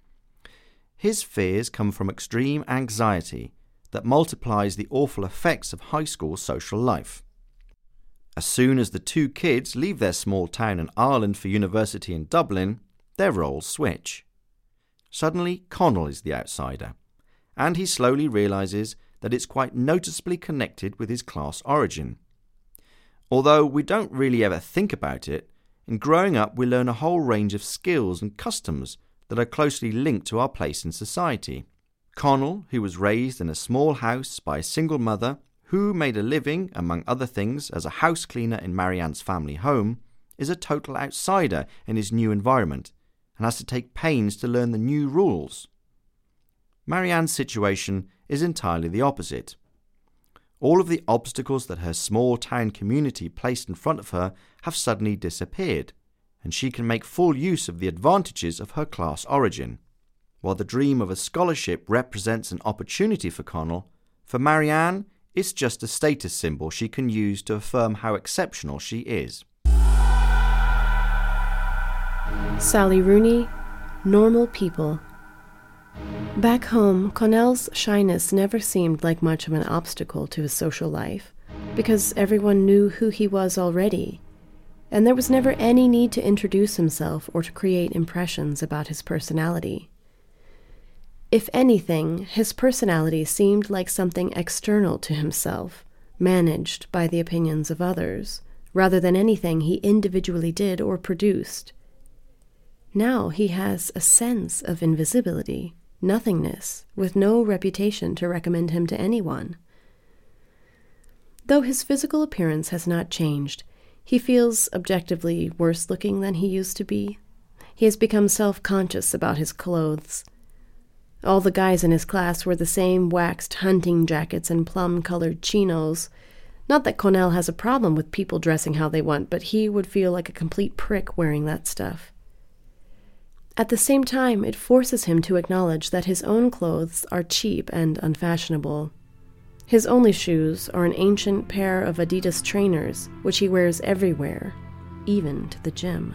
[SPEAKER 1] His fears come from extreme anxiety that multiplies the awful effects of high school social life. As soon as the two kids leave their small town in Ireland for university in Dublin, their roles switch. Suddenly, Connell is the outsider, and he slowly realises that it's quite noticeably connected with his class origin. Although we don't really ever think about it, in growing up we learn a whole range of skills and customs that are closely linked to our place in society. Connell, who was raised in a small house by a single mother, who made a living, among other things, as a house cleaner in Marianne's family home, is a total outsider in his new environment and has to take pains to learn the new rules. Marianne's situation is entirely the opposite. All of the obstacles that her small town community placed in front of her have suddenly disappeared, and she can make full use of the advantages of her class origin. While the dream of a scholarship represents an opportunity for Connell, for Marianne, it's just a status symbol she can use to affirm how exceptional she is.
[SPEAKER 2] Sally Rooney, Normal People. Back home, Connell's shyness never seemed like much of an obstacle to his social life, because everyone knew who he was already, and there was never any need to introduce himself or to create impressions about his personality. If anything, his personality seemed like something external to himself, managed by the opinions of others, rather than anything he individually did or produced. Now he has a sense of invisibility, nothingness, with no reputation to recommend him to anyone. Though his physical appearance has not changed, he feels objectively worse looking than he used to be. He has become self-conscious about his clothes. All the guys in his class wear the same waxed hunting jackets and plum-colored chinos. Not that Connell has a problem with people dressing how they want, but he would feel like a complete prick wearing that stuff. At the same time, it forces him to acknowledge that his own clothes are cheap and unfashionable. His only shoes are an ancient pair of Adidas trainers, which he wears everywhere, even to the gym.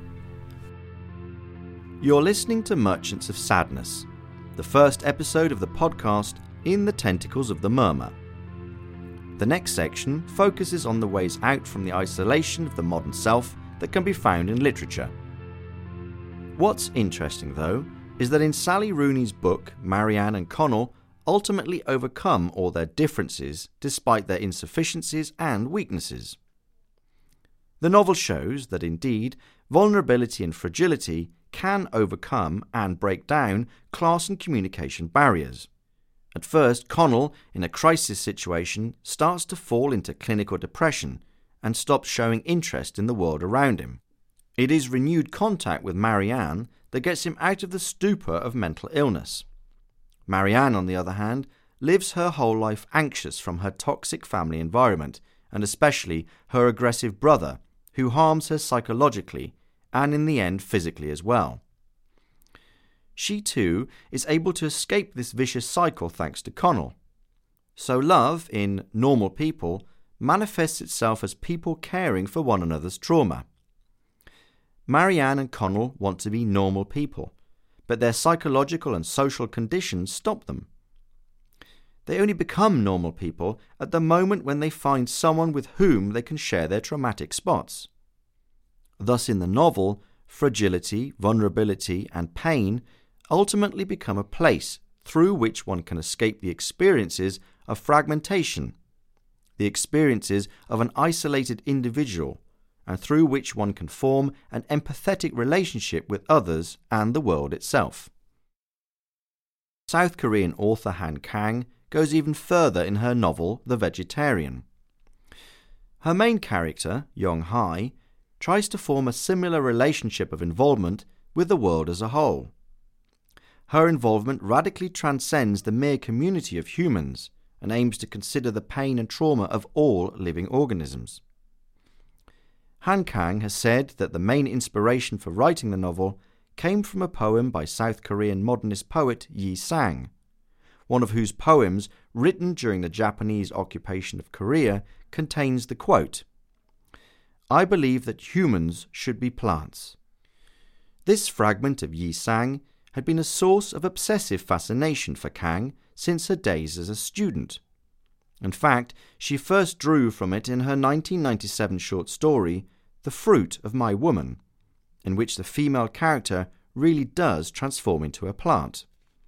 [SPEAKER 1] You're listening to Merchants of Sadness, the first episode of the podcast In the Tentacles of the Murmur. The next section focuses on the ways out from the isolation of the modern self that can be found in literature. What's interesting, though, is that in Sally Rooney's book, Marianne and Connell ultimately overcome all their differences despite their insufficiencies and weaknesses. The novel shows that indeed vulnerability and fragility can overcome and break down class and communication barriers. At first, Connell, in a crisis situation, starts to fall into clinical depression and stops showing interest in the world around him. It is renewed contact with Marianne that gets him out of the stupor of mental illness. Marianne, on the other hand, lives her whole life anxious from her toxic family environment, and especially her aggressive brother, who harms her psychologically and in the end physically as well. She too is able to escape this vicious cycle thanks to Connell. So love, in Normal People, manifests itself as people caring for one another's trauma. Marianne and Connell want to be normal people, but their psychological and social conditions stop them. They only become normal people at the moment when they find someone with whom they can share their traumatic spots. Thus in the novel, fragility, vulnerability, and pain ultimately become a place through which one can escape the experiences of fragmentation, the experiences of an isolated individual, and through which one can form an empathetic relationship with others and the world itself. South Korean author Han Kang goes even further in her novel The Vegetarian. Her main character, Young Hae, tries to form a similar relationship of involvement with the world as a whole. Her involvement radically transcends the mere community of humans and aims to consider the pain and trauma of all living organisms. Han Kang has said that the main inspiration for writing the novel came from a poem by South Korean modernist poet Yi Sang, one of whose poems, written during the Japanese occupation of Korea, contains the quote, "I believe that humans should be plants." This fragment of Yi Sang had been a source of obsessive fascination for Kang since her days as a student. In fact, she first drew from it in her nineteen ninety-seven short story, The Fruit of My Woman, in which the female character really does transform into a plant.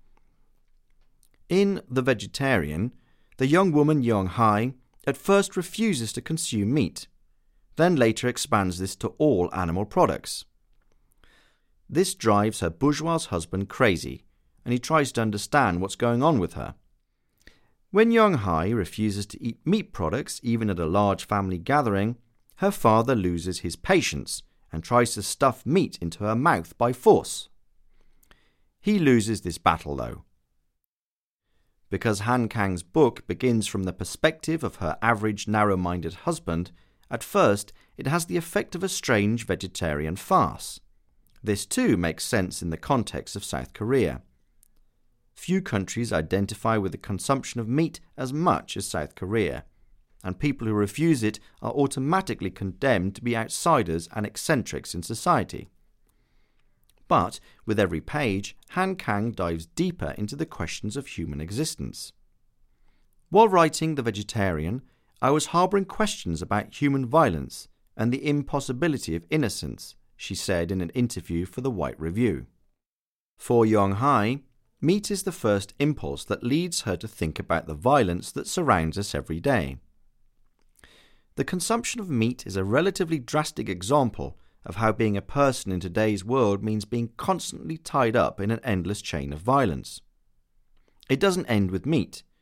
[SPEAKER 1] In The Vegetarian, the young woman Young Hae at first refuses to consume meat, then later expands this to all animal products. This drives her bourgeois husband crazy, and he tries to understand what's going on with her. When Young Hae refuses to eat meat products even at a large family gathering, her father loses his patience and tries to stuff meat into her mouth by force. He loses this battle, though. Because Han Kang's book begins from the perspective of her average narrow-minded husband, at first it has the effect of a strange vegetarian farce. This too makes sense in the context of South Korea. Few countries identify with the consumption of meat as much as South Korea, and people who refuse it are automatically condemned to be outsiders and eccentrics in society. But with every page, Han Kang dives deeper into the questions of human existence. While writing The Vegetarian, I was harbouring questions about human violence and the impossibility of innocence, she said in an interview for The White Review. For Young Hae, meat is the first impulse that leads her to think about the violence that surrounds us every day. The consumption of meat is a relatively drastic example of how being a person in today's world means being constantly tied up in an endless chain of violence. It doesn't end with meat.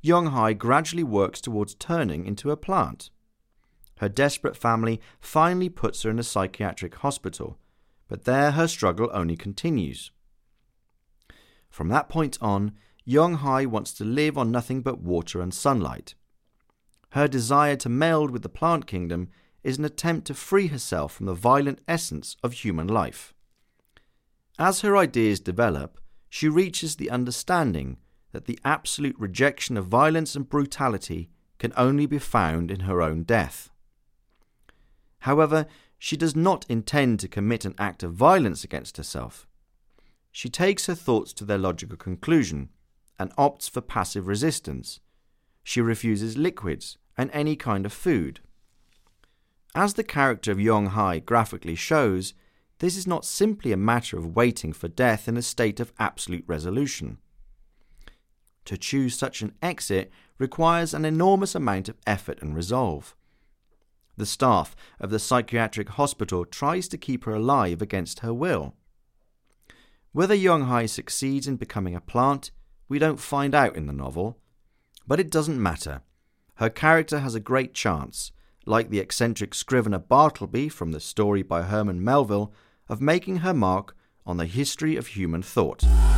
[SPEAKER 1] Yonghai gradually works towards turning into a plant. Her desperate family finally puts her in a psychiatric hospital, but there her struggle only continues. From that point on, Yonghai wants to live on nothing but water and sunlight. Her desire to meld with the plant kingdom is an attempt to free herself from the violent essence of human life. As her ideas develop, she reaches the understanding that the absolute rejection of violence and brutality can only be found in her own death. However, she does not intend to commit an act of violence against herself. She takes her thoughts to their logical conclusion and opts for passive resistance. She refuses liquids and any kind of food. As the character of Yonghai graphically shows, this is not simply a matter of waiting for death in a state of absolute resolution. To choose such an exit requires an enormous amount of effort and resolve. The staff of the psychiatric hospital tries to keep her alive against her will. Whether Yonghai succeeds in becoming a plant, we don't find out in the novel. But it doesn't matter. Her character has a great chance, like the eccentric scrivener Bartleby from the story by Herman Melville, of making her mark on the history of human thought.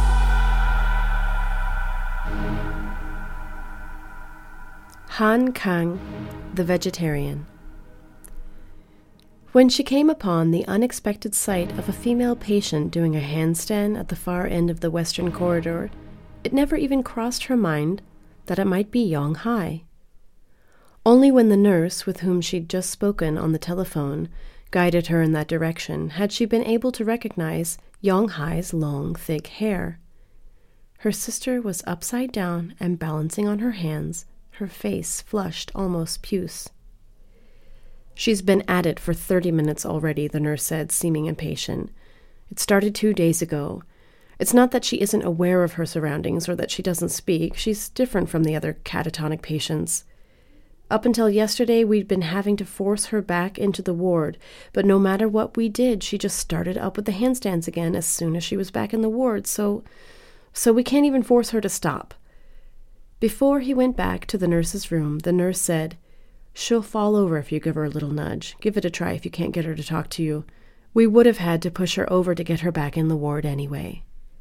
[SPEAKER 2] Han Kang, the vegetarian. When she came upon the unexpected sight of a female patient doing a handstand at the far end of the western corridor, it never even crossed her mind that it might be Yonghai. Only when the nurse with whom she'd just spoken on the telephone guided her in that direction had she been able to recognize Yonghai's long, thick hair. Her sister was upside down and balancing on her hands, her face flushed almost puce. "She's been at it for thirty minutes already," the nurse said, seeming impatient. "It started two days ago. It's not that she isn't aware of her surroundings or that she doesn't speak. She's different from the other catatonic patients. Up until yesterday, we'd been having to force her back into the ward, but no matter what we did, she just started up with the handstands again as soon as she was back in the ward, so, so we can't even force her to stop." Before he went back to the nurse's room, the nurse said, "She'll fall over if you give her a little nudge. Give it a try if you can't get her to talk to you. We would have had to push her over to get her back in the ward anyway."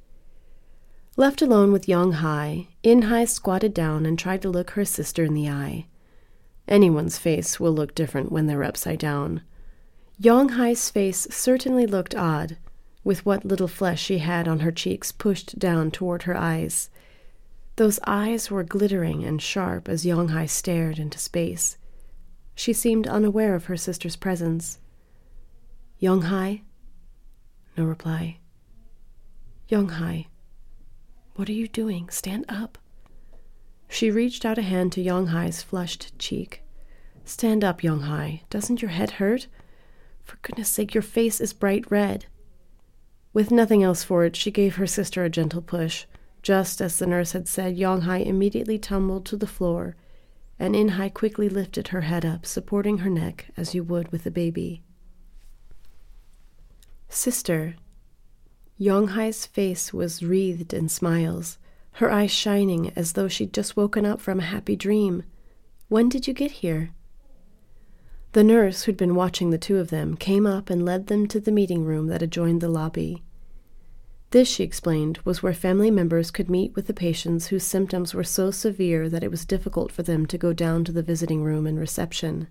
[SPEAKER 2] Left alone with Yonghai, Inhai squatted down and tried to look her sister in the eye. Anyone's face will look different when they're upside down. Yonghai's face certainly looked odd, with what little flesh she had on her cheeks pushed down toward her eyes. Those eyes were glittering and sharp as Yonghai stared into space. She seemed unaware of her sister's presence. "Yonghai?" No reply. "Yonghai, what are you doing? Stand up." She reached out a hand to Yonghai's flushed cheek. "Stand up, Yonghai. Doesn't your head hurt? For goodness sake, your face is bright red." With nothing else for it, she gave her sister a gentle push. Just as the nurse had said, Yonghai immediately tumbled to the floor, and Inhai quickly lifted her head up, supporting her neck as you would with a baby. "Sister." Yonghai's face was wreathed in smiles, her eyes shining as though she'd just woken up from a happy dream. "When did you get here?" The nurse, who'd been watching the two of them, came up and led them to the meeting room that adjoined the lobby. This, she explained, was where family members could meet with the patients whose symptoms were so severe that it was difficult for them to go down to the visiting room and reception.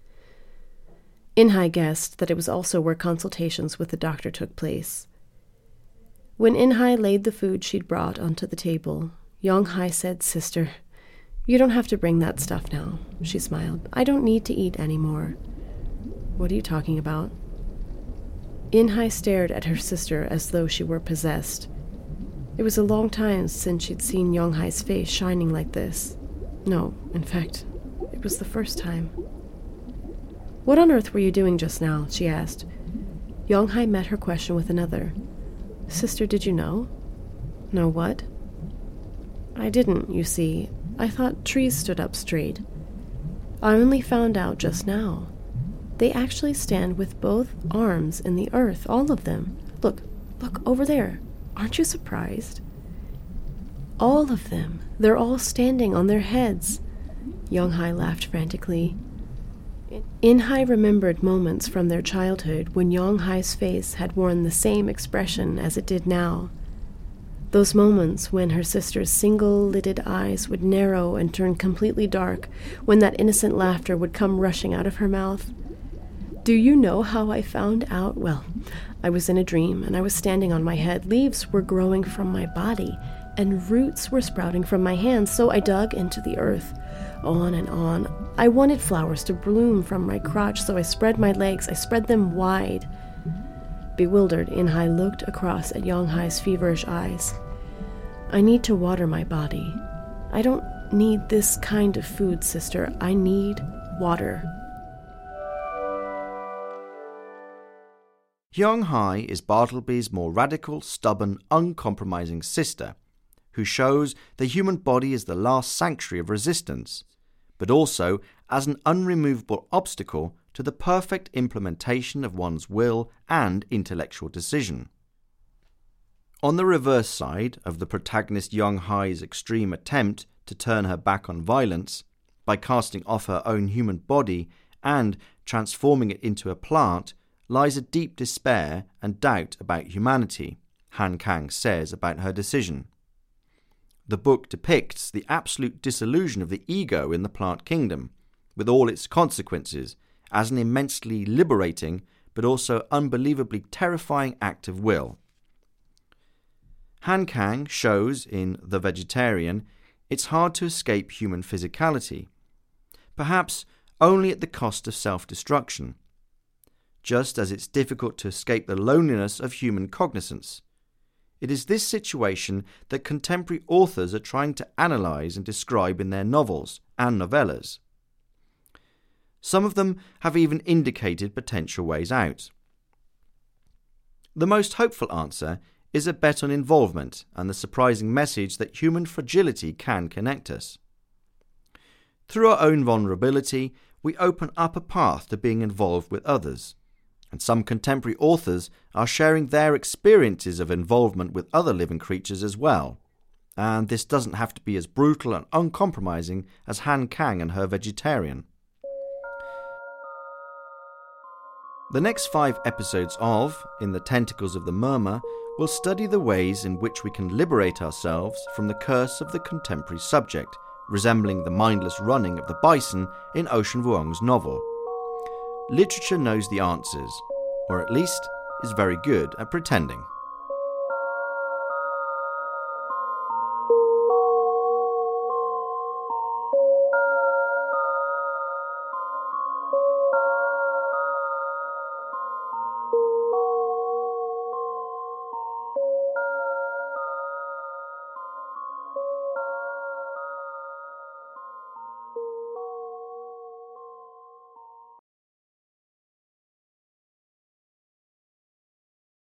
[SPEAKER 2] Inhai guessed that it was also where consultations with the doctor took place. When Inhai laid the food she'd brought onto the table, Yonghai said, "Sister, you don't have to bring that stuff now." She smiled. "I don't need to eat anymore." "What are you talking about?" Inhai stared at her sister as though she were possessed. It was a long time since she'd seen Yonghai's face shining like this. No, in fact, it was the first time. "What on earth were you doing just now?" she asked. Yonghai met her question with another. "Sister, did you know?" "Know what?" "I didn't, you see. I thought trees stood up straight. I only found out just now. They actually stand with both arms in the earth, all of them. Look, look, over there. Aren't you surprised?" All of them. They're all standing on their heads. Yonghai laughed frantically. Inhai remembered moments from their childhood when Yonghai's face had worn the same expression as it did now. Those moments when her sister's single-lidded eyes would narrow and turn completely dark, when that innocent laughter would come rushing out of her mouth. Do you know how I found out? Well, I was in a dream, and I was standing on my head. Leaves were growing from my body, and roots were sprouting from my hands, so I dug into the earth. On and on. I wanted flowers to bloom from my crotch, so I spread my legs. I spread them wide. Bewildered, Inhai looked across at Yonghai's feverish eyes. I need to water my body. I don't need this kind of food, sister. I need water.
[SPEAKER 1] Yonghai is Bartleby's more radical, stubborn, uncompromising sister, who shows the human body as the last sanctuary of resistance, but also as an unremovable obstacle to the perfect implementation of one's will and intellectual decision. On the reverse side of the protagonist Yonghai's extreme attempt to turn her back on violence by casting off her own human body and transforming it into a plant lies a deep despair and doubt about humanity, Han Kang says about her decision. The book depicts the absolute dissolution of the ego in the plant kingdom, with all its consequences, as an immensely liberating but also unbelievably terrifying act of will. Han Kang shows in The Vegetarian it's hard to escape human physicality, perhaps only at the cost of self-destruction, just as it's difficult to escape the loneliness of human cognizance. It is this situation that contemporary authors are trying to analyse and describe in their novels and novellas. Some of them have even indicated potential ways out. The most hopeful answer is a bet on involvement and the surprising message that human fragility can connect us. Through our own vulnerability, we open up a path to being involved with others. And some contemporary authors are sharing their experiences of involvement with other living creatures as well. And this doesn't have to be as brutal and uncompromising as Han Kang and Her Vegetarian. The next five episodes of In the Tentacles of the Murmur will study the ways in which we can liberate ourselves from the curse of the contemporary subject, resembling the mindless running of the bison in Ocean Vuong's novel. Literature knows the answers, or at least is very good at pretending.